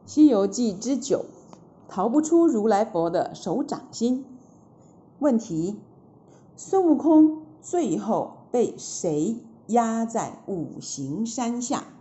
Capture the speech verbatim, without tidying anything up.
西遊記之九，逃不出如來佛的手掌心。問題：孫悟空最後被誰壓在五行山下？